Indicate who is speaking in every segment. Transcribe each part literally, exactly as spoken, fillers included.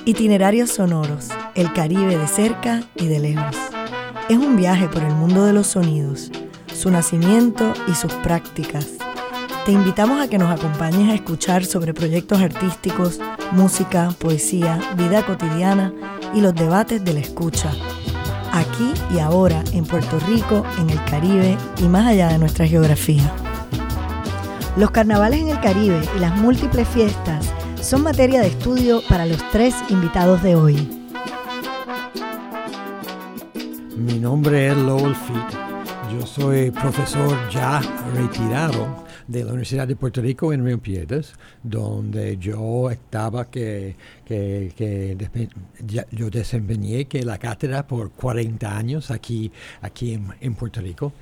Speaker 1: Itinerarios sonoros, el Caribe de cerca y de lejos. Es un viaje por el mundo de los sonidos, su nacimiento y sus prácticas. Te invitamos a que nos acompañes a escuchar sobre proyectos artísticos, música, poesía, vida cotidiana y los debates de la escucha. Aquí y ahora, en Puerto Rico, en el Caribe y más allá de nuestra geografía. Los carnavales en el Caribe y las múltiples fiestas son materia de estudio para los tres invitados de hoy.
Speaker 2: Mi nombre es Lowell Feet. Yo soy profesor ya retirado de la Universidad de Puerto Rico en Río Piedras, donde yo estaba que, que, que despe- ya, yo desempeñé que la cátedra por cuarenta años aquí, aquí en, en Puerto Rico.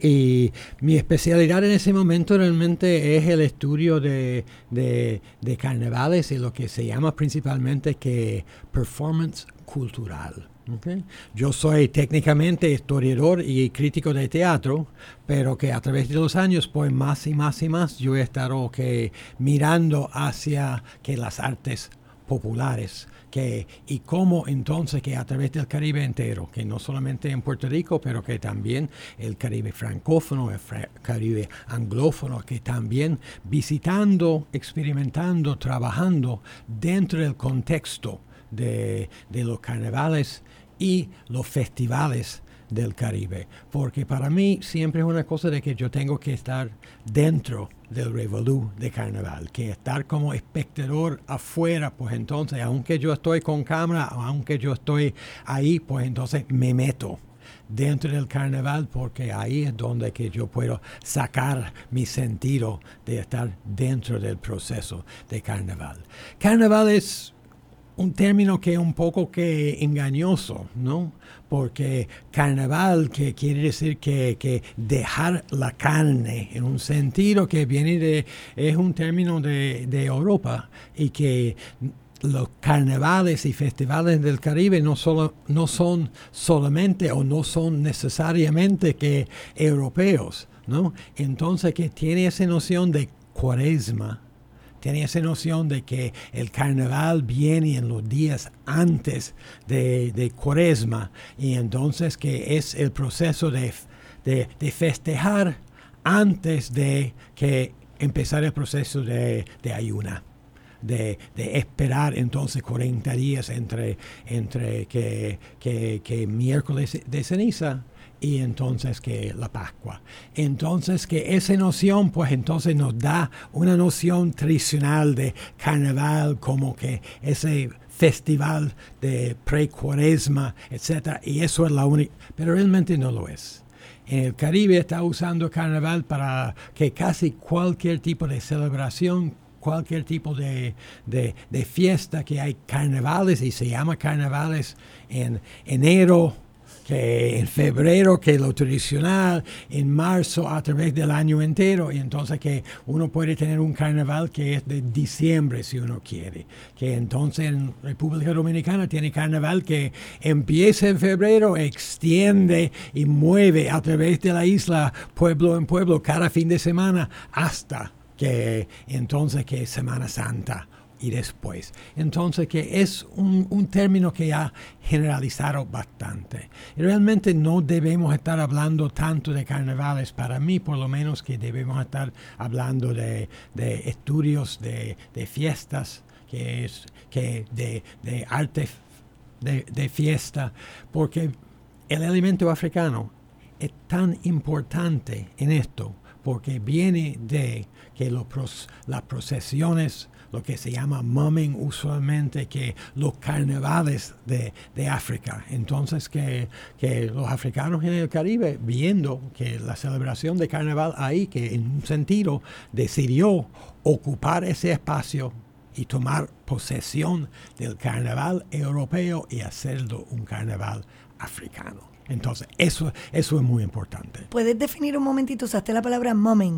Speaker 2: Y mi especialidad en ese momento realmente es el estudio de, de, de carnavales y lo que se llama principalmente que performance cultural. Okay. Yo soy técnicamente historiador y crítico de teatro, pero que a través de los años, pues más y más y más, yo he estado okay, mirando hacia que las artes populares, que, y cómo entonces que a través del Caribe entero, que no solamente en Puerto Rico, pero que también el Caribe francófono, el fra- Caribe anglófono, que también visitando, experimentando, trabajando dentro del contexto de, de los carnavales y los festivales del Caribe, porque para mí siempre es una cosa de que yo tengo que estar dentro del revolú de carnaval, que estar como espectador afuera, pues entonces, aunque yo estoy con cámara, aunque yo estoy ahí, pues entonces me meto dentro del carnaval, porque ahí es donde que yo puedo sacar mi sentido de estar dentro del proceso de carnaval. Carnaval es un término que es un poco que engañoso, ¿no? Porque carnaval, que quiere decir que, que dejar la carne, en un sentido que viene de, es un término de, de Europa, y que los carnavales y festivales del Caribe no, solo, no son solamente o no son necesariamente que europeos, ¿no? Entonces que tiene esa noción de cuaresma, tiene esa noción de que el carnaval viene en los días antes de, de Cuaresma, y entonces que es el proceso de, de, de festejar antes de que empezar el proceso de, de ayuna. De, de esperar entonces cuarenta días entre, entre que, que, que miércoles de ceniza y entonces que la Pascua. Entonces que esa noción pues entonces nos da una noción tradicional de carnaval, como que ese festival de pre-cuaresma, etcétera, y eso es la única, pero realmente no lo es. En el Caribe está usando carnaval para que casi cualquier tipo de celebración, cualquier tipo de, de, de fiesta, que hay carnavales, y se llama carnavales en enero, que en febrero, que lo tradicional, en marzo a través del año entero, y entonces que uno puede tener un carnaval que es de diciembre si uno quiere, que entonces en República Dominicana tiene carnaval que empieza en febrero, extiende y mueve a través de la isla, pueblo en pueblo, cada fin de semana, hasta que entonces que es Semana Santa y después. Entonces que es un, un término que ha generalizado bastante. Y realmente no debemos estar hablando tanto de carnavales, para mí por lo menos, que debemos estar hablando de, de estudios, de, de fiestas, que es que de, de arte de, de fiesta, porque el elemento africano es tan importante en esto, porque viene de que los, las procesiones, lo que se llama mumming usualmente, que los carnavales de, de África. Entonces que, que los africanos en el Caribe, viendo que la celebración de carnaval ahí, que en un sentido decidió ocupar ese espacio y tomar posesión del carnaval europeo y hacerlo un carnaval africano. Entonces, eso, eso es muy importante.
Speaker 1: ¿Puedes definir un momentito? Usaste la palabra mumming.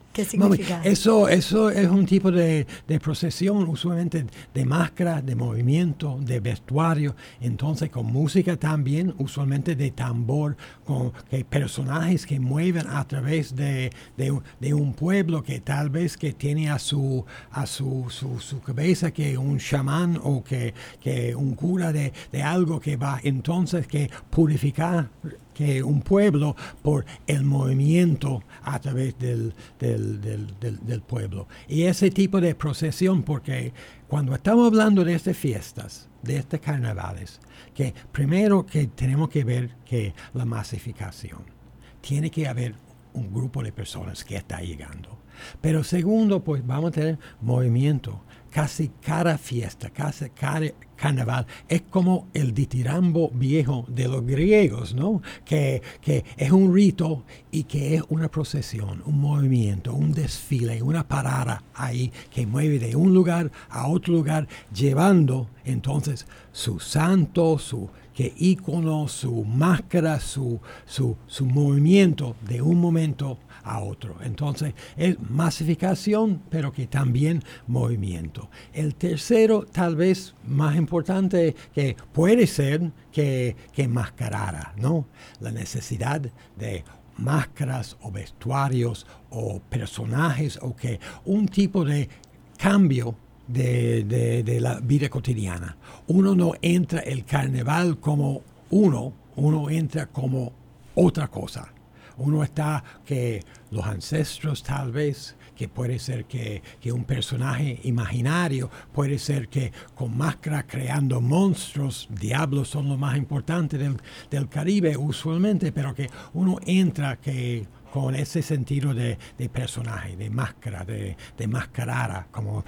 Speaker 1: ¿Qué significa?
Speaker 2: Eso, eso es un tipo de, de procesión, usualmente de máscara, de movimiento, de vestuario. Entonces, con música también, usualmente de tambor, con que personajes que mueven a través de, de, de un pueblo que tal vez que tiene a su a su, su, su cabeza que un chamán o que, que un cura de, de algo que va entonces que purificar que un pueblo por el movimiento a través del, del, del, del, del pueblo. Y ese tipo de procesión, porque cuando estamos hablando de estas fiestas, de estos carnavales, que primero que tenemos que ver que la masificación, tiene que haber un grupo de personas que está llegando. Pero segundo, pues vamos a tener movimiento. Casi cada fiesta, casi cada carnaval es como el ditirambo viejo de los griegos, ¿no? Que, que es un rito y que es una procesión, un movimiento, un desfile, una parada ahí que mueve de un lugar a otro lugar, llevando entonces su santo, su que ícono, su máscara, su, su, su movimiento de un momento a otro. Entonces, es masificación, pero que también movimiento. El tercero, tal vez más importante, que puede ser que, que mascarara, ¿no? La necesidad de máscaras o vestuarios o personajes o que un tipo de cambio de, de, de la vida cotidiana. Uno no entra el carnaval como uno, uno entra como otra cosa. Uno está que los ancestros tal vez, que puede ser que, que un personaje imaginario, puede ser que con máscara creando monstruos, diablos son lo más importante del, del Caribe usualmente, pero que uno entra que con ese sentido de, de personaje, de máscara, de, de mascarada. Como,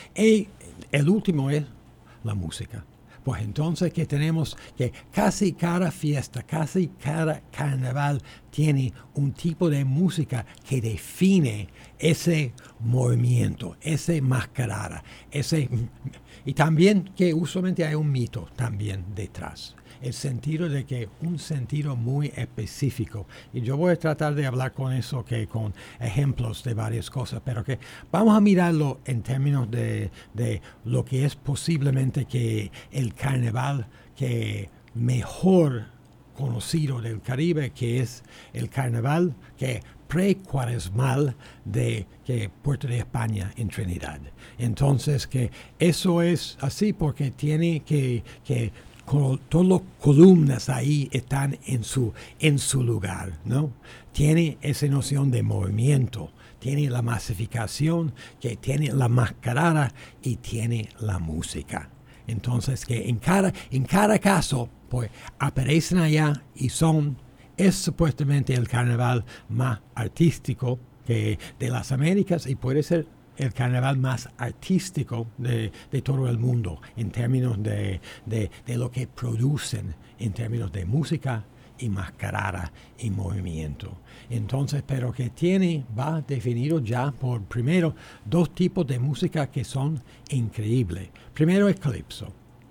Speaker 2: y el último es la música. Pues entonces que tenemos que casi cada fiesta, casi cada carnaval tiene un tipo de música que define ese movimiento, ese mascarada, ese y también que usualmente hay un mito también detrás. El sentido de que un sentido muy específico. Y yo voy a tratar de hablar con eso, que con ejemplos de varias cosas, pero que vamos a mirarlo en términos de, de lo que es posiblemente que el carnaval que mejor conocido del Caribe, que es el carnaval que pre-cuaresmal de que Puerto de España en Trinidad. Entonces que eso es así porque tiene que, que con todas las columnas ahí están en su, en su lugar, ¿no? Tiene esa noción de movimiento, tiene la masificación, que tiene la mascarada y tiene la música. Entonces que en cada, en cada caso, pues aparecen allá y son, es supuestamente el carnaval más artístico que de las Américas y puede ser el carnaval más artístico de, de todo el mundo en términos de, de, de lo que producen en términos de música y mascarada y movimiento. Entonces, pero que tiene, va definido ya por primero dos tipos de música que son increíbles. Primero es calipso.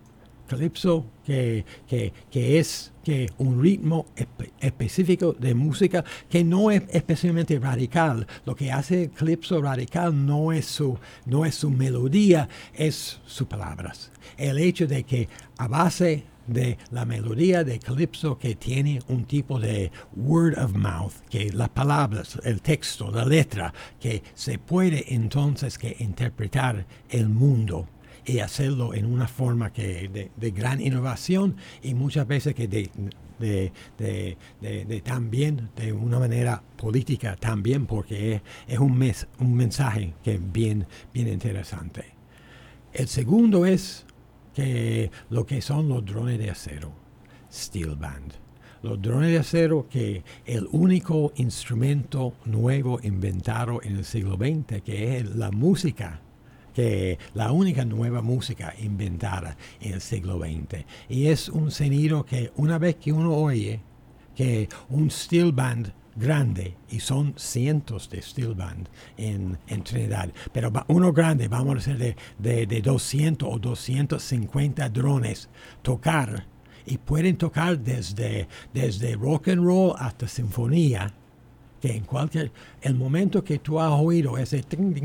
Speaker 2: Calipso que, que, que es que un ritmo espe- específico de música que no es especialmente radical. Lo que hace el calipso radical no es su, no es su melodía, es sus palabras. El hecho de que a base de la melodía de calipso que tiene un tipo de word of mouth, que las palabras, el texto, la letra, que se puede entonces que interpretar el mundo y hacerlo en una forma que de, de gran innovación y muchas veces que de, de, de, de, de también de una manera política también porque es, es un, mes, un mensaje que es bien, bien interesante. El segundo es que lo que son los drones de acero, steel band. Los drones de acero que el único instrumento nuevo inventado en el siglo veinte que es la música, que la única nueva música inventada en el siglo veinte. Y es un sonido que una vez que uno oye que un steel band grande, y son cientos de steel band en, en Trinidad, pero uno grande, vamos a decir de, de, de doscientos o doscientos cincuenta drones, tocar, y pueden tocar desde, desde rock and roll hasta sinfonía, que en cualquier, el momento que tú has oído ese,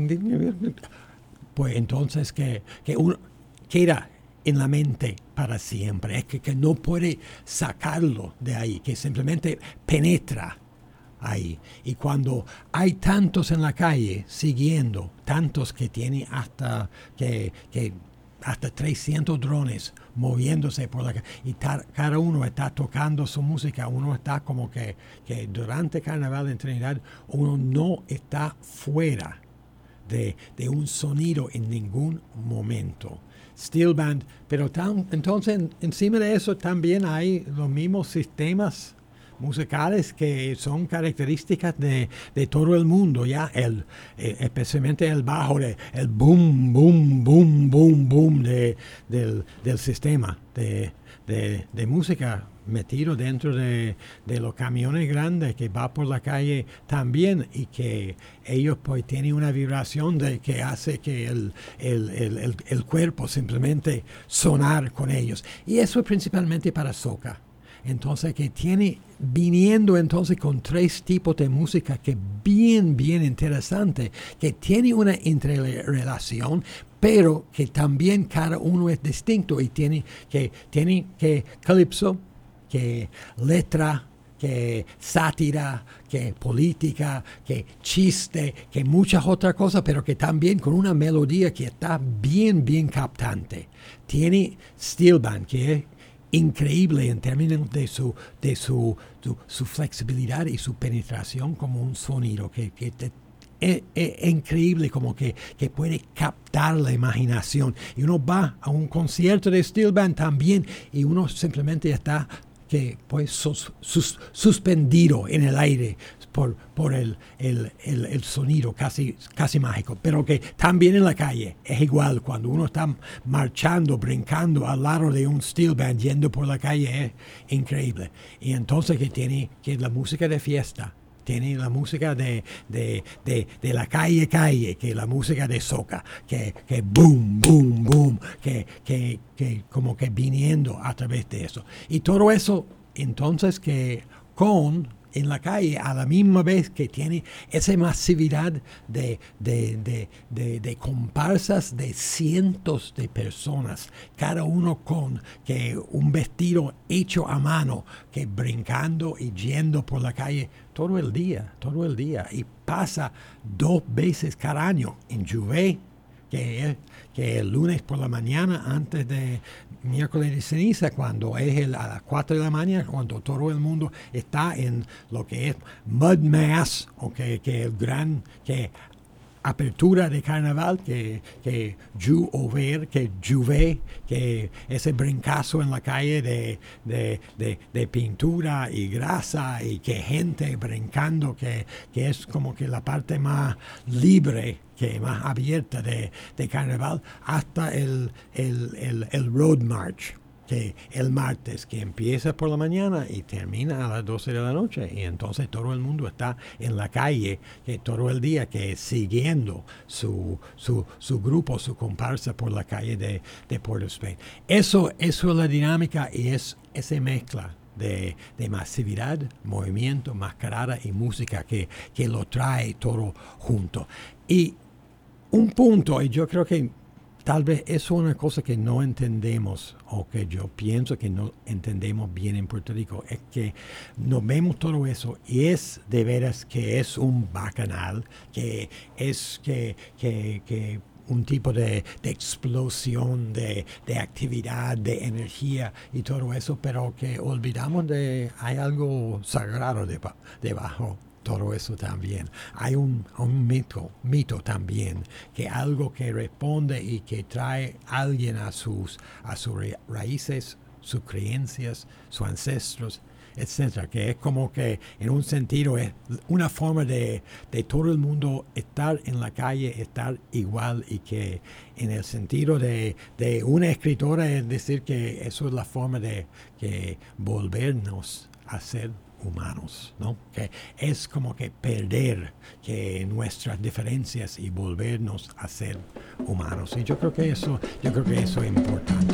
Speaker 2: pues entonces que, que uno queda en la mente para siempre, es que, que no puede sacarlo de ahí, que simplemente penetra ahí. Y cuando hay tantos en la calle siguiendo, tantos que tienen hasta que, que hasta trescientos drones moviéndose por la calle, y tar, cada uno está tocando su música, uno está como que, que durante Carnaval en Trinidad uno no está fuera de, de un sonido en ningún momento. Steel band, pero tan, entonces en, encima de eso también hay los mismos sistemas musicales que son características de, de todo el mundo, ya el, eh, especialmente el bajo, de, el boom, boom, boom, boom, boom de, del, del sistema de, de, de música metido dentro de, de los camiones grandes que va por la calle también, y que ellos pues tienen una vibración de que hace que el, el, el, el, el cuerpo simplemente sonar con ellos, y eso es principalmente para soca. Entonces que tiene, viniendo entonces con tres tipos de música que bien, bien interesante, que tiene una interrelación, pero que también cada uno es distinto y tiene que, tiene que calipso, que letra, que sátira, que política, que chiste, que muchas otras cosas, pero que también con una melodía que está bien, bien captante. Tiene steel band, que es increíble en términos de su de su, su, su flexibilidad y su penetración como un sonido que, que te, es, es increíble, como que, que puede captar la imaginación, y uno va a un concierto de steel band también y uno simplemente está que pues sus, sus, suspendido en el aire por, por el, el, el, el sonido casi, casi mágico, pero que también en la calle es igual. Cuando uno está marchando, brincando al lado de un steel band yendo por la calle es increíble. Y entonces que tiene que la música de fiesta, tiene la música de, de, de, de la calle calle, que la música de soca, que, que boom, boom, boom, que, que, que como que viniendo a través de eso. Y todo eso, entonces, que con en la calle a la misma vez que tiene esa masividad de, de, de, de, de comparsas de cientos de personas, cada uno con que un vestido hecho a mano, que brincando y yendo por la calle todo el día, todo el día, y pasa dos veces cada año en Juve, que, que el lunes por la mañana antes de miércoles de ceniza, cuando es el, a las cuatro de la mañana, cuando todo el mundo está en lo que es Mud Mass, o que, que el gran que apertura de carnaval, que, que Juve, que Juve, que ese brincazo en la calle de, de, de, de pintura y grasa, y que gente brincando, que, que es como que la parte más libre, que más abierta de, de carnaval, hasta el, el, el, el Road March, que el martes, que empieza por la mañana y termina a las doce de la noche, y entonces todo el mundo está en la calle que todo el día, que siguiendo su, su, su grupo, su comparsa por la calle de, de Port of Spain. Eso, eso es la dinámica, y es esa mezcla de, de masividad, movimiento, mascarada y música que, que lo trae todo junto. Y un punto, y yo creo que tal vez eso es una cosa que no entendemos, o que yo pienso que no entendemos bien en Puerto Rico, es que nos vemos todo eso y es de veras que es un bacanal, que es que, que, que un tipo de, de explosión de, de actividad, de energía y todo eso, pero que olvidamos de hay algo sagrado deba, debajo. Todo eso también. Hay un, un mito, mito también, que algo que responde y que trae a alguien a sus, a sus raíces, sus creencias, sus ancestros, etcétera. Que es como que en un sentido es una forma de, de todo el mundo estar en la calle, estar igual, y que en el sentido de, de una escritora es decir que eso es la forma de que volvernos a ser humanos, ¿no? Que es como que perder que nuestras diferencias y volvernos a ser humanos. Y yo creo que eso, yo creo que eso es importante.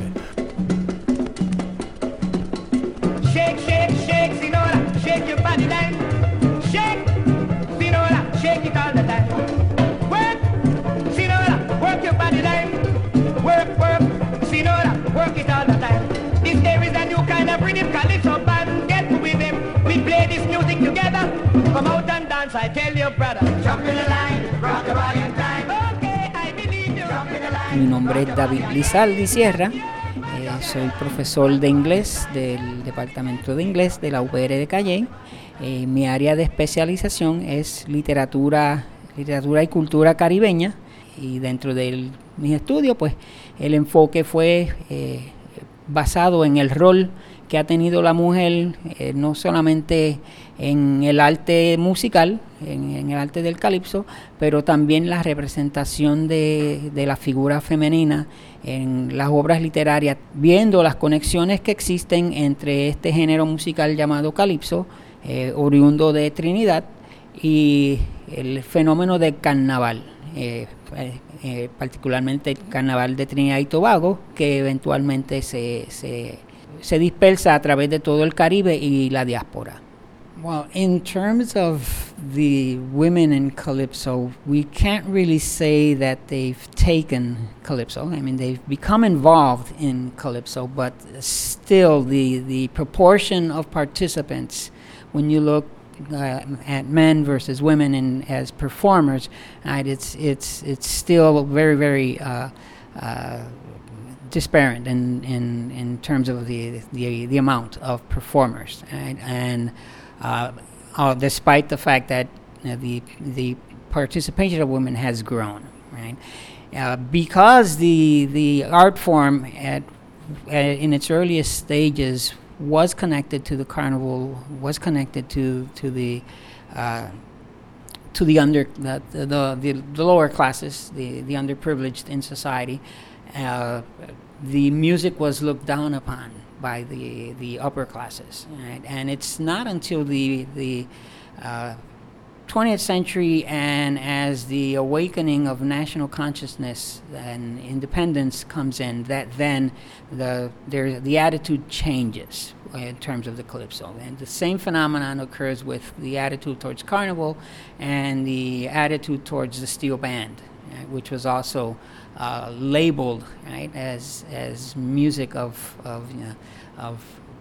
Speaker 3: Shake, shake, shake, señora, shake your body down. Shake, I tell you, brother. Jump in the line, rock the body in time. Okay, I believe you. Jump in the line.
Speaker 4: Mi nombre es David Lizaldi Sierra. Eh, soy profesor de inglés del Departamento de Inglés de la U P R de Calley. Eh, mi área de especialización es literatura, literatura y cultura caribeña. Y dentro de mis estudios, pues, el enfoque fue eh, basado en el rol que ha tenido la mujer, eh, no solamente en el arte musical, en, en el arte del calipso, pero también la representación de, de la figura femenina en las obras literarias, viendo las conexiones que existen entre este género musical llamado calipso, eh, oriundo de Trinidad, y el fenómeno del carnaval, eh, eh, particularmente el carnaval de Trinidad y Tobago, que eventualmente se, se, se dispersa a través de todo el Caribe y la diáspora. Well, in terms of the women in Calypso, we can't really say that they've taken Calypso. I mean, they've become involved in Calypso, but still the, the proportion of participants, when you look uh, at men versus women in, as performers, right, it's, it's, it's still very, very uh, uh, disparate in, in, in terms of the, the, the amount of performers. Right? And Uh, uh, despite the fact that uh, the the participation of women has grown, right? Uh, because the the art form at uh, in its earliest stages was connected to the carnival, was connected to to the uh, to the under the the, the the lower classes, the the underprivileged in society. Uh, the music was looked down upon by the the upper classes, right? And it's not until the the uh, twentieth century, and as the awakening of national consciousness and independence comes in, that then the there the attitude changes in terms of the calypso. And the same phenomenon occurs with the attitude towards carnival and the attitude towards the steel band, right, which was also Uh, labeled, right, as as music of of you know, of,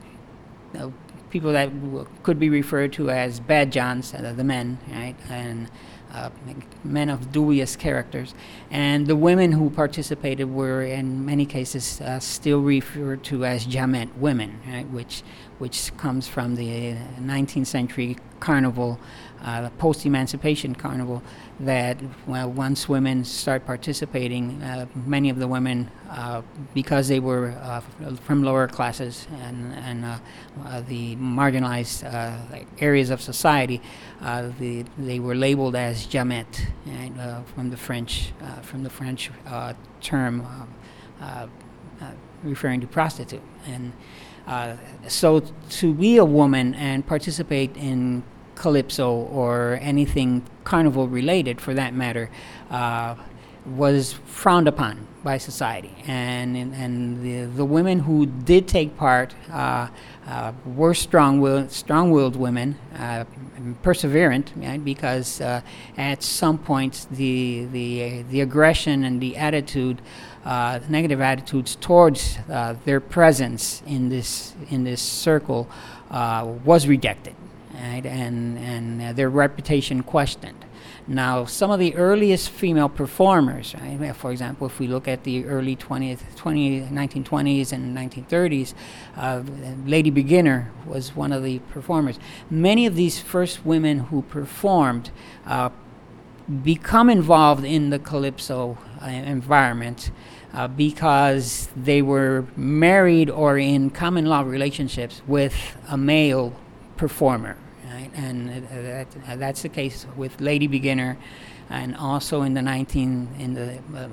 Speaker 4: of people that w- could be referred to as bad Johns, uh, the men, right, and uh, men of dubious characters, and the women who participated were in many cases uh, still referred to as Jamet women, right, which which comes from the nineteenth century carnival, uh, post-emancipation carnival, that well, once women start participating, uh, many of the women, uh, because they were uh, from lower classes and, and uh, uh, the marginalized uh, areas of society, uh, the, they were labeled as Jamet, right, uh, from the French, uh, from the French uh, term uh, uh, uh, referring to prostitute. And uh, so to be a woman and participate in calypso or anything carnival related for that matter uh, was frowned upon by society, and and, and the, the women who did take part uh, uh, were strong-willed, strong-willed women, uh, perseverant, right? Because uh, at some point the the the aggression and the attitude, uh, negative attitudes towards uh, their presence in this in this circle uh, was rejected. Right, and and uh, their reputation questioned. Now, some of the earliest female performers, right, for example, if we look at the early twentieth, nineteen twenties and nineteen thirties, uh, Lady Beginner was one of the performers. Many of these first women who performed uh, become involved in the calypso uh, environment uh, because they were married or in common law relationships with a male performer. Right? And uh, that, uh, that's the case with Lady Beginner, and also in the nineteen in the uh,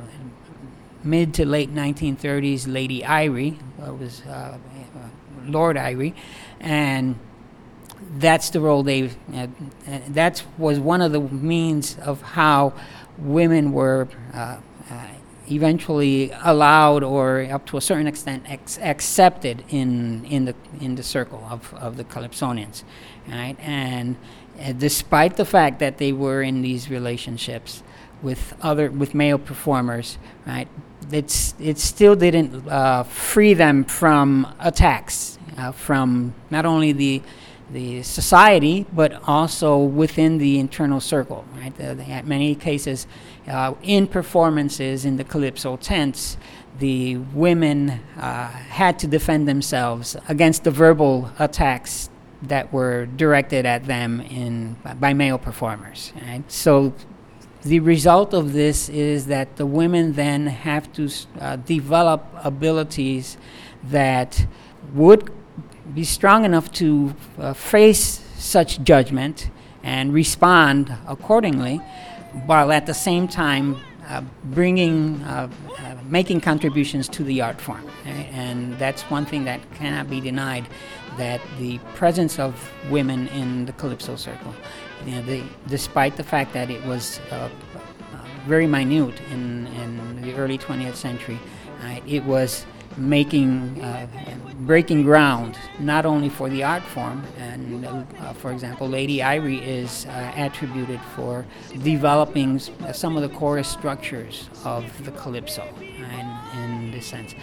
Speaker 4: mid to late nineteen thirties, Lady Irie uh, was uh, uh, Lord Irie, and that's the role they. Uh, that was one of the means of how women were uh, uh, eventually allowed, or up to a certain extent, ex- accepted in in the in the circle of, of the Calypsonians. Right, and uh, despite the fact that they were in these relationships with other with male performers, right, it's it still didn't uh, free them from attacks uh, from not only the the society, but also within the internal circle. Right, the, the, in many cases, uh, in performances in the calypso tents, the women uh, had to defend themselves against the verbal attacks that were directed at them in by male performers. Right? So the result of this is that the women then have to uh, develop abilities that would be strong enough to uh, face such judgment and respond accordingly, while at the same time uh, bringing, uh, uh, making contributions to the art form. Right? And that's one thing that cannot be denied, that the presence of women in the Calypso circle, you know, the, despite the fact that it was uh, uh, very minute in, in the early twentieth century, uh, it was making, uh, breaking ground, not only for the art form, and uh, for example, Lady Irie is uh, attributed for developing s- some of the chorus structures of the calypso, in, in this sense,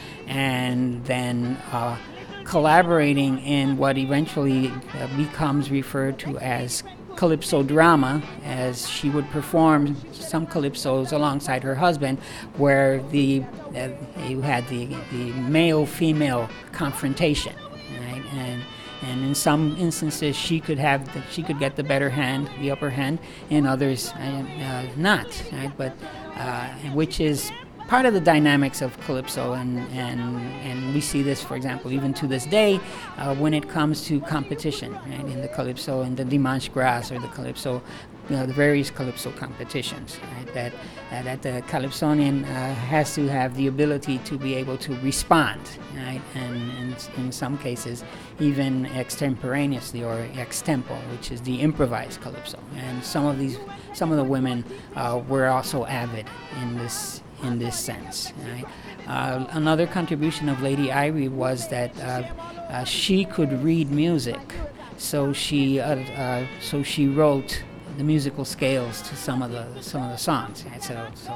Speaker 4: and then uh, collaborating in what eventually uh, becomes referred to as calypso drama, as she would perform some calypsos alongside her husband, where the uh, you had the the male-female confrontation, right? And and in some instances she could have the, she could get the better hand, the upper hand, in others uh, uh, not, right? But uh, which is part of the dynamics of calypso, and, and and we see this, for example, even to this day, uh, when it comes to competition, right, in the calypso, in the Dimanche Gras, or the calypso, you know, the various calypso competitions, right, that uh, that the calypsonian uh, has to have the ability to be able to respond, right, and, and in some cases even extemporaneously, or extempo, which is the improvised calypso. And some of these, some of the women uh, were also avid in this. in this sense. Right? Uh, another contribution of Lady Irie was that uh, uh, she could read music, so she uh, uh, so she wrote the musical scales to some of the some of the songs. Right? So, so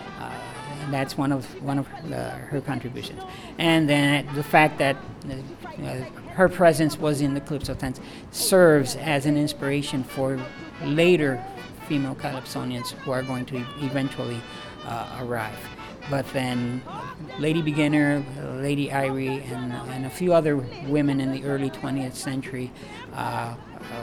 Speaker 4: uh, and that's one of one of the, her contributions. And then the fact that uh, her presence was in the calypso tent serves as an inspiration for later female calypsonians who are going to eventually Uh, arrive. But then Lady Beginner, uh, Lady Irie, and, and a few other women in the early twentieth century uh, uh,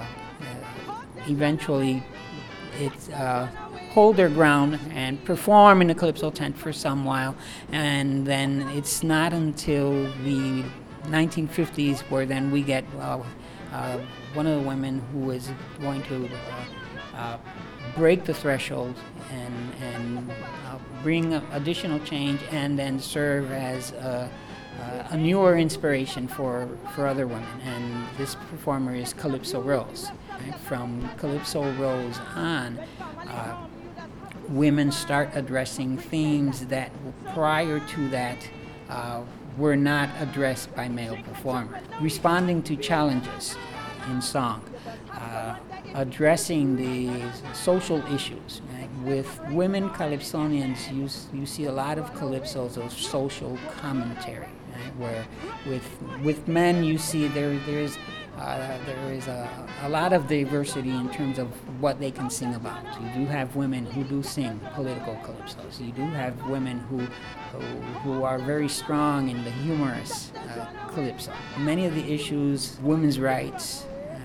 Speaker 4: uh, eventually it, uh, hold their ground and perform in the calypso tent for some while, and then it's not until the nineteen fifties where then we get uh, uh, one of the women who is going to uh, uh, break the threshold and, and uh, bring a additional change, and then serve as a, uh, a newer inspiration for, for other women. And this performer is Calypso Rose. Right? From Calypso Rose on, uh, women start addressing themes that prior to that uh, were not addressed by male performers. Responding to challenges in song. Uh, addressing the social issues. Right? With women calypsonians, you, you see a lot of calypsos of social commentary, right? Where with with men you see there there is uh, there is a, a lot of diversity in terms of what they can sing about. You do have women who do sing political calypsos. You do have women who who, who are very strong in the humorous uh, calypso. Many of the issues, women's rights,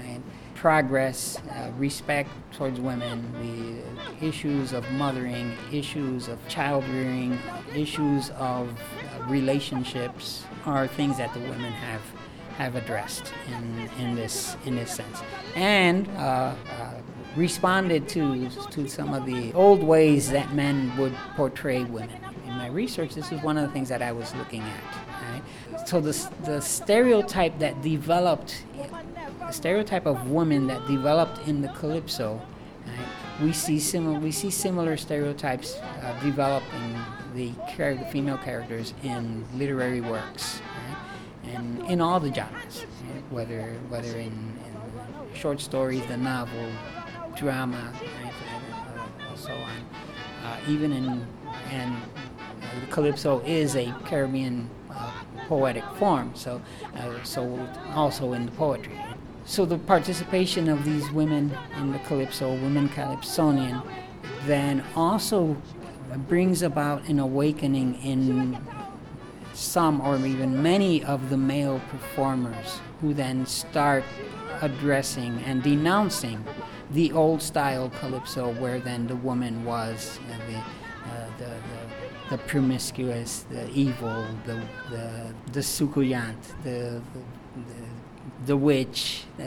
Speaker 4: progress, uh, respect towards women, the issues of mothering, issues of child rearing, issues of uh, relationships are things that the women have have addressed in, in this in this sense, and uh, uh, responded to to some of the old ways that men would portray women. In my research, this is one of the things that I was looking at. Right? So the the stereotype that developed. The stereotype of woman that developed in the calypso, right? we see similar we see similar stereotypes uh, develop in the, char- the female characters in literary works, right? And in all the genres, right? whether whether in, in short stories, the novel, drama, right? uh, and so on. Uh, even in and uh, the calypso is a Caribbean uh, poetic form, so uh, so also in the poetry. so the participation of these women in the calypso, women calypsonian, then also brings about an awakening in some or even many of the male performers, who then start addressing and denouncing the old style calypso, where then the woman was uh, the, uh, the, the the promiscuous, the evil, the the the succulent, the the, the, the witch, uh,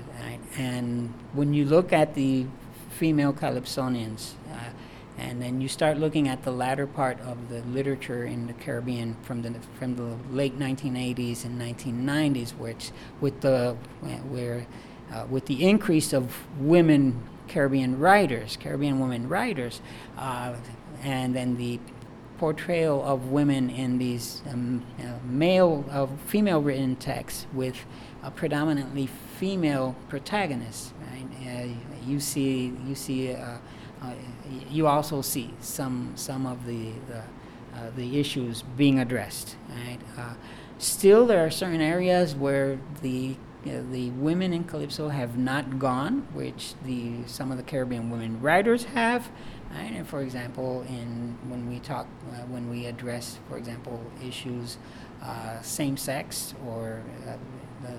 Speaker 4: and when you look at the female calypsonians, uh, and then you start looking at the latter part of the literature in the Caribbean from the from the late nineteen eighties and nineteen nineties, which with the where uh, with the increase of women Caribbean writers, Caribbean women writers, uh, and then the portrayal of women in these um, uh, male, uh, female-written texts with uh, predominantly female protagonists. Right? Uh, you see, you see, uh, uh, you also see some some of the the, uh, the issues being addressed. Right? Uh, still, there are certain areas where the Uh, the women in calypso have not gone, which the some of the Caribbean women writers have. Right? And for example, in when we talk, uh, when we address, for example, issues uh, same-sex or uh, the,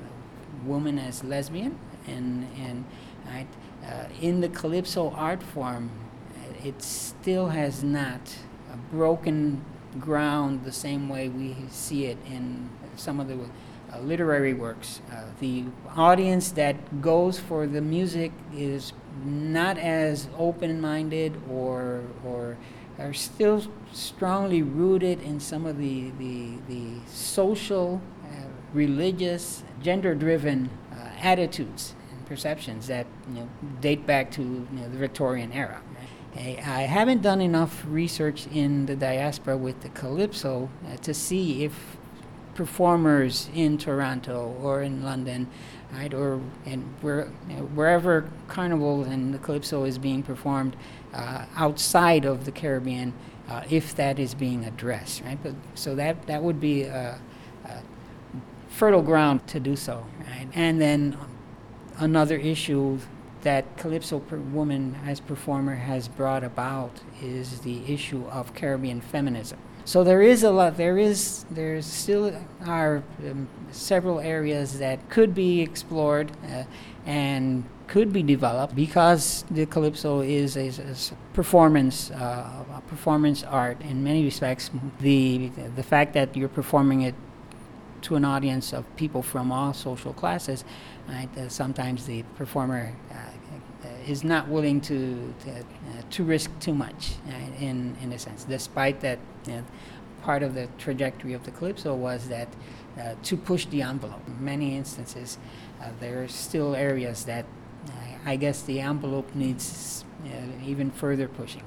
Speaker 4: the woman as lesbian, and and right, uh, in the calypso art form, it still has not uh, broken ground the same way we see it in some of the Uh, literary works. Uh, the audience that goes for the music is not as open-minded or or are still strongly rooted in some of the the, the social, uh, religious, gender-driven uh, attitudes and perceptions that you know date back to you know, the Victorian era. I, I haven't done enough research in the diaspora with the calypso uh, to see if performers in Toronto or in London, right, or and where, you know, wherever carnival and the calypso is being performed uh, outside of the Caribbean, uh, if that is being addressed, right? But so that that would be a, a fertile ground to do so, right? And then another issue that calypso per woman as performer has brought about is the issue of Caribbean feminism. So there is a lot, there is, there still are um, several areas that could be explored uh, and could be developed, because the calypso is a, a performance, uh, a performance art in many respects. The, the fact that you're performing it to an audience of people from all social classes, right, uh, sometimes the performer uh, is not willing to to, uh, to risk too much, right, in in a sense, despite that you know, part of the trajectory of the calypso was that uh, to push the envelope. In many instances, uh, there are still areas that uh, I guess the envelope needs uh, even further pushing.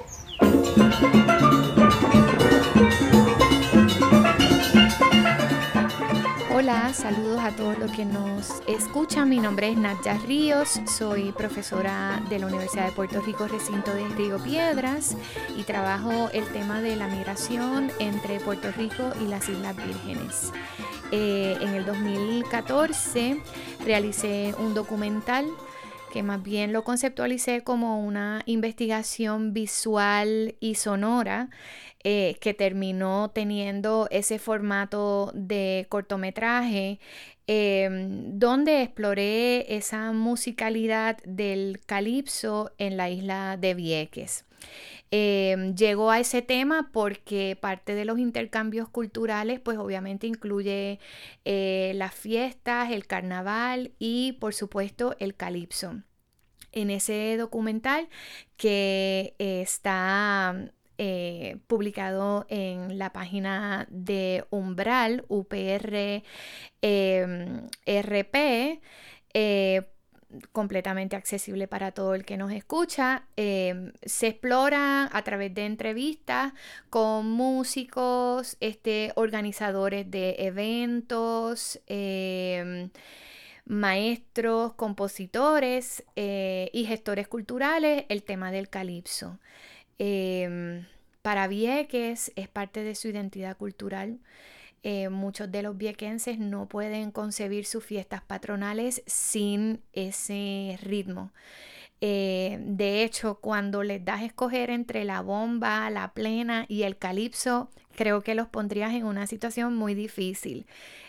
Speaker 5: Hola, saludos a todos los que nos escuchan. Mi nombre es Nadja Ríos, soy profesora de la Universidad de Puerto Rico, recinto de Río Piedras, y trabajo el tema de la migración entre Puerto Rico y las Islas Vírgenes. Eh, en el dos mil catorce realicé un documental que más bien lo conceptualicé como una investigación visual y sonora, eh, que terminó teniendo ese formato de cortometraje, eh, donde exploré esa musicalidad del calipso en la isla de Vieques. Eh, llegó a ese tema porque parte de los intercambios culturales pues obviamente incluye eh, las fiestas, el carnaval y por supuesto el calipso. En ese documental que eh, está eh, publicado en la página de Umbral, U P R eh, R P, eh, completamente accesible para todo el que nos escucha. Eh, se explora a través de entrevistas con músicos, este, organizadores de eventos, eh, maestros, compositores eh, y gestores culturales, el tema del calipso. Eh, para Vieques es parte de su identidad cultural. Eh, muchos de los viequenses no pueden concebir sus fiestas patronales sin ese ritmo. Eh, de hecho, cuando les das a escoger entre la bomba, la plena y el calipso, creo que los pondrías en una situación muy difícil.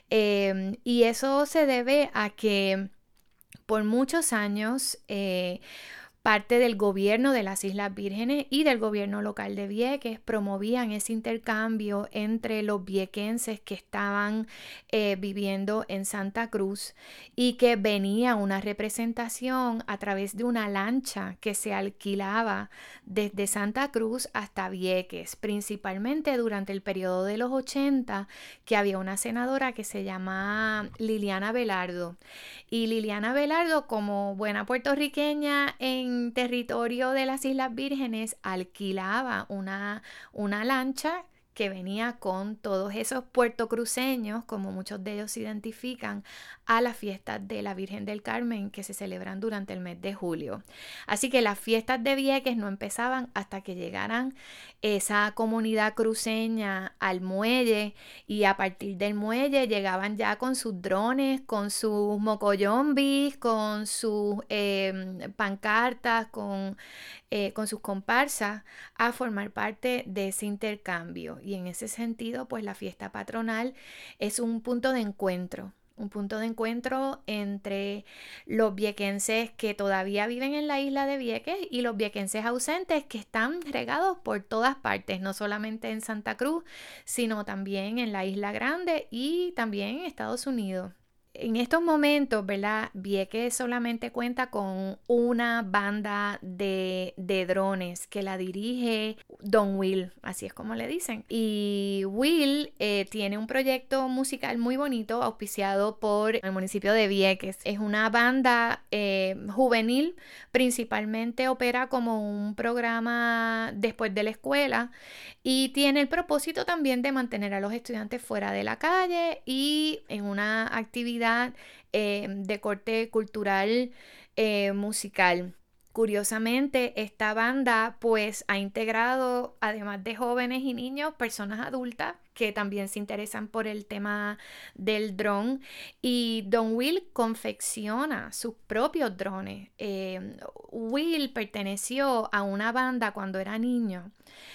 Speaker 5: Eh, y eso se debe a que por muchos años eh, parte del gobierno de las Islas Vírgenes y del gobierno local de Vieques promovían ese intercambio entre los viequenses que estaban eh, viviendo en Santa Cruz, y que venía una representación a través de una lancha que se alquilaba desde Santa Cruz hasta Vieques, principalmente durante el periodo de los ochenta, que había una senadora que se llama Liliana Velardo. Y Liliana Velardo, como buena puertorriqueña en territorio de las Islas Vírgenes, alquilaba una, una lancha que venía con todos esos puertocruceños, como muchos de ellos se identifican, a las fiestas de la Virgen del Carmen que se celebran durante el mes de julio. Así que las fiestas de Vieques no empezaban hasta que llegaran esa comunidad cruceña al muelle, y a partir del muelle llegaban ya con sus drones, con sus mocoyombis, con sus eh, pancartas, con, eh, con sus comparsas, a formar parte de ese intercambio. Y en ese sentido, pues la fiesta patronal es un punto de encuentro, un punto de encuentro entre los viequenses que todavía viven en la isla de Vieques y los viequenses ausentes que están regados por todas partes, no solamente en Santa Cruz, sino también en la Isla Grande y también en Estados Unidos. En estos momentos, ¿verdad? Vieques solamente cuenta con una banda de, de drones que la dirige Don Will, así es como le dicen. Y Will eh, tiene un proyecto musical muy bonito auspiciado por el municipio de Vieques. Es una banda eh, juvenil, principalmente opera como un programa después de la escuela, y tiene el propósito también de mantener a los estudiantes fuera de la calle y en una actividad Eh, de corte cultural eh, musical. Curiosamente, esta banda pues ha integrado, además de jóvenes y niños, personas adultas que también se interesan por el tema del dron, y Don Will confecciona sus propios drones. Eh, Will perteneció a una banda cuando era niño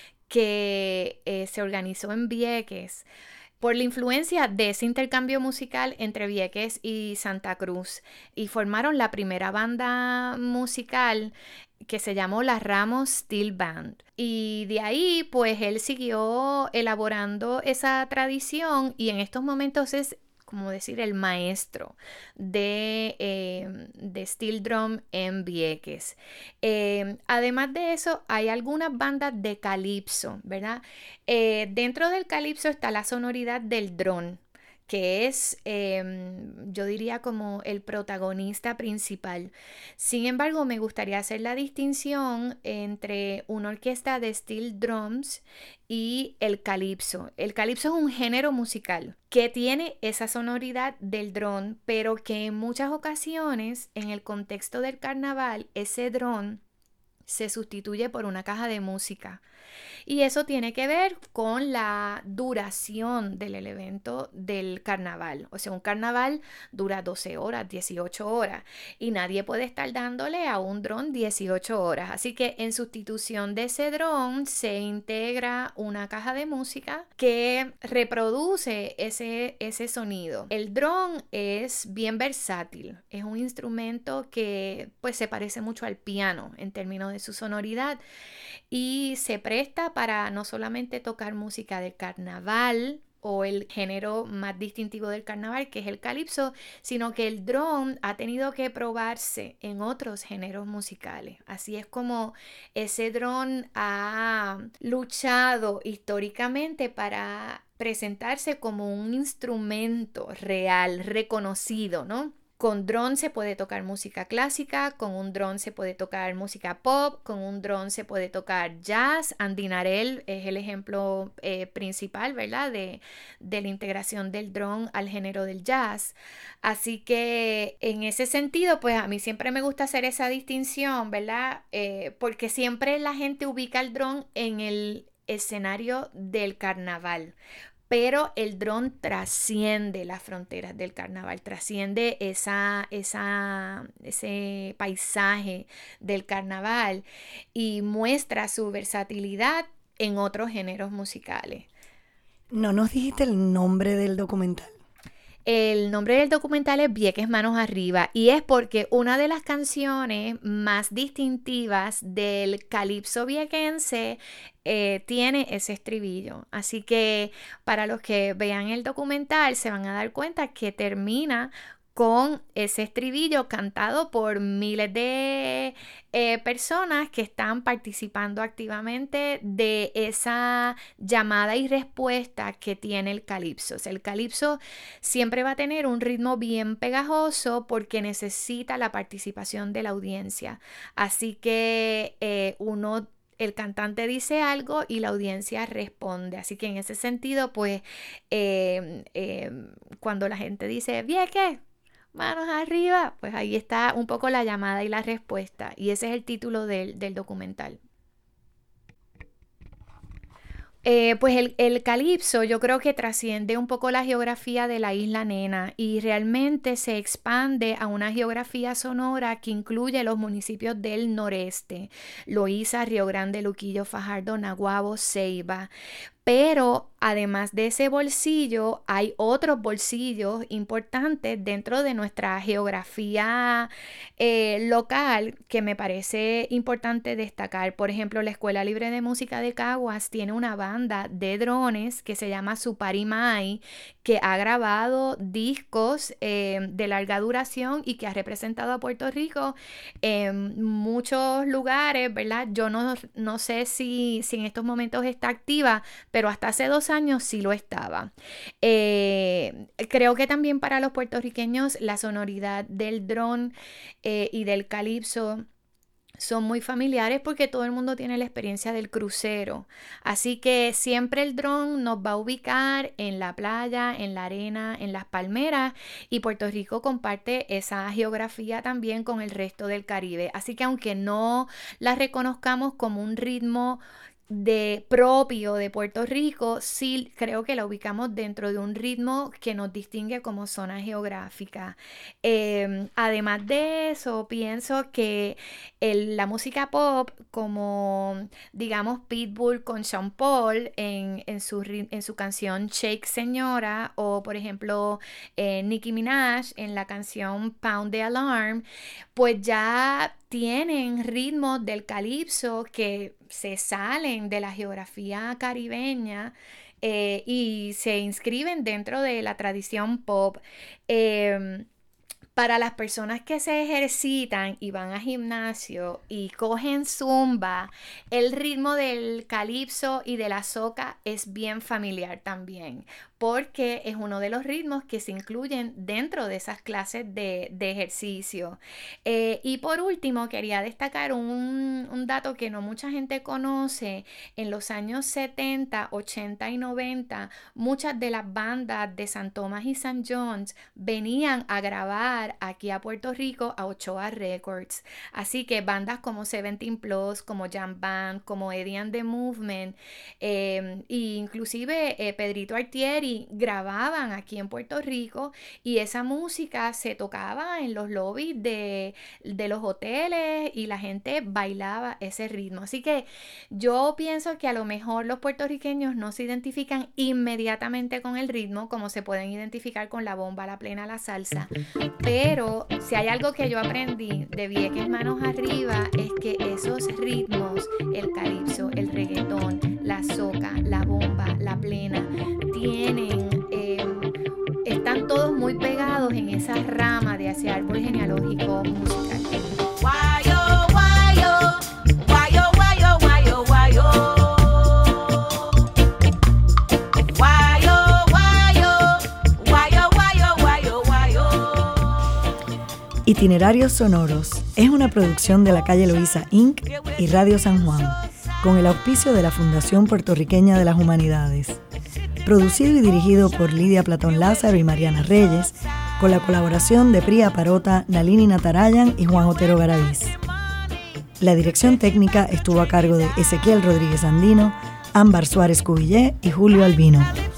Speaker 5: que eh, se organizó en Vieques por la influencia de ese intercambio musical entre Vieques y Santa Cruz, y formaron la primera banda musical que se llamó la Ramos Steel Band. Y de ahí pues él siguió elaborando esa tradición, y en estos momentos es como decir el maestro de, eh, de steel drum en Vieques. Eh, además de eso, hay algunas bandas de calipso, ¿verdad? Eh, dentro del calipso está la sonoridad del dron, que es, eh, yo diría, como el protagonista principal. Sin embargo, me gustaría hacer la distinción entre una orquesta de steel drums y el calipso. El calipso es un género musical que tiene esa sonoridad del dron, pero que en muchas ocasiones, en el contexto del carnaval, ese dron se sustituye por una caja de música. Y eso tiene que ver con la duración del evento del carnaval. O sea, un carnaval dura doce horas, dieciocho horas, y nadie puede estar dándole a un dron dieciocho horas. Así que en sustitución de ese dron se integra una caja de música que reproduce ese, ese sonido. El dron es bien versátil. Es un instrumento que pues se parece mucho al piano en términos de su sonoridad, y se presta para no solamente tocar música de carnaval o el género más distintivo del carnaval, que es el calipso, sino que el dron ha tenido que probarse en otros géneros musicales. Así es como ese dron ha luchado históricamente para presentarse como un instrumento real, reconocido, ¿no? Con dron se puede tocar música clásica, con un dron se puede tocar música pop, con un dron se puede tocar jazz. Andy Narell es el ejemplo eh, principal, ¿verdad? De, de la integración del dron al género del jazz. Así que en ese sentido, pues a mí siempre me gusta hacer esa distinción, ¿verdad? Eh, porque siempre la gente ubica el dron en el escenario del carnaval. pero el dron trasciende las fronteras del carnaval, trasciende esa, esa, ese paisaje del carnaval y muestra su versatilidad en otros géneros musicales.
Speaker 1: ¿No nos dijiste el nombre del documental?
Speaker 5: El nombre del documental es Vieques Manos Arriba y es porque una de las canciones más distintivas del calipso viequense eh, tiene ese estribillo. Así que para los que vean el documental se van a dar cuenta que termina con ese estribillo cantado por miles de eh, personas que están participando activamente de esa llamada y respuesta que tiene el calipso. O sea, el calipso siempre va a tener un ritmo bien pegajoso porque necesita la participación de la audiencia. Así que eh, uno... el cantante dice algo y la audiencia responde. Así que en ese sentido, pues, eh, eh, cuando la gente dice, ¿Vieques? Manos arriba, pues ahí está un poco la llamada y la respuesta. Y ese es el título del, del documental. Eh, pues el, el calipso yo creo que trasciende un poco la geografía de la isla Nena y realmente se expande a una geografía sonora que incluye los municipios del noreste, Loíza, Río Grande, Luquillo, Fajardo, Naguabo, Ceiba. Pero además de ese bolsillo, hay otros bolsillos importantes dentro de nuestra geografía eh, local que me parece importante destacar. Por ejemplo, la Escuela Libre de Música de Caguas tiene una banda de drones que se llama Suparimai, que ha grabado discos eh, de larga duración y que ha representado a Puerto Rico en muchos lugares, ¿verdad? Yo no, no sé si, si en estos momentos está activa, pero hasta hace dos años sí lo estaba. Eh, creo que también para los puertorriqueños la sonoridad del dron eh, y del calipso son muy familiares porque todo el mundo tiene la experiencia del crucero. Así que siempre el dron nos va a ubicar en la playa, en la arena, en las palmeras, y Puerto Rico comparte esa geografía también con el resto del Caribe. Así que aunque no la reconozcamos como un ritmo de propio de Puerto Rico, sí creo que la ubicamos dentro de un ritmo que nos distingue como zona geográfica. Eh, además de eso, pienso que el, la música pop, como digamos Pitbull con Sean Paul en, en, su, en su canción Shake Señora, o por ejemplo eh, Nicki Minaj en la canción Pound the Alarm, pues ya tienen ritmos del calipso que se salen de la geografía caribeña eh, y se inscriben dentro de la tradición pop. Eh, Para las personas que se ejercitan y van a gimnasio y cogen zumba, el ritmo del calipso y de la soca es bien familiar también, porque es uno de los ritmos que se incluyen dentro de esas clases de, de ejercicio. Eh, y por último, quería destacar un, un dato que no mucha gente conoce. En los años setenta, ochenta y noventa, muchas de las bandas de San Tomás y San John's venían a grabar aquí a Puerto Rico a Ochoa Records. Así que bandas como Seventeen Plus, como Jam Band, como Eddie and the Movement, eh, e inclusive eh, Pedrito Artieri grababan aquí en Puerto Rico, y esa música se tocaba en los lobbies de, de los hoteles y la gente bailaba ese ritmo. Así que yo pienso que a lo mejor los puertorriqueños no se identifican inmediatamente con el ritmo como se pueden identificar con la bomba, la plena, la salsa, pero si hay algo que yo aprendí de Vieques Manos Arriba es que esos ritmos, el calipso, el reggaetón, la soca, la bomba, la plena, tienen eh, están todos muy pegados en esa rama de ese árbol genealógico musical.
Speaker 3: Guayo, guayo, guayo, guayo, guayo, guayo. Guayo, guayo, guayo, guayo, guayo, guayo.
Speaker 1: Itinerarios Sonoros es una producción de la Calle Loíza incorporated y Radio San Juan, con el auspicio de la Fundación Puertorriqueña de las Humanidades. Producido y dirigido por Lidia Platón Lázaro y Mariana Reyes, con la colaboración de Priya Parota, Nalini Natarayan y Juan Otero Garaviz. La dirección técnica estuvo a cargo de Ezequiel Rodríguez Andino, Ámbar Suárez Cubillé y Julio Albino.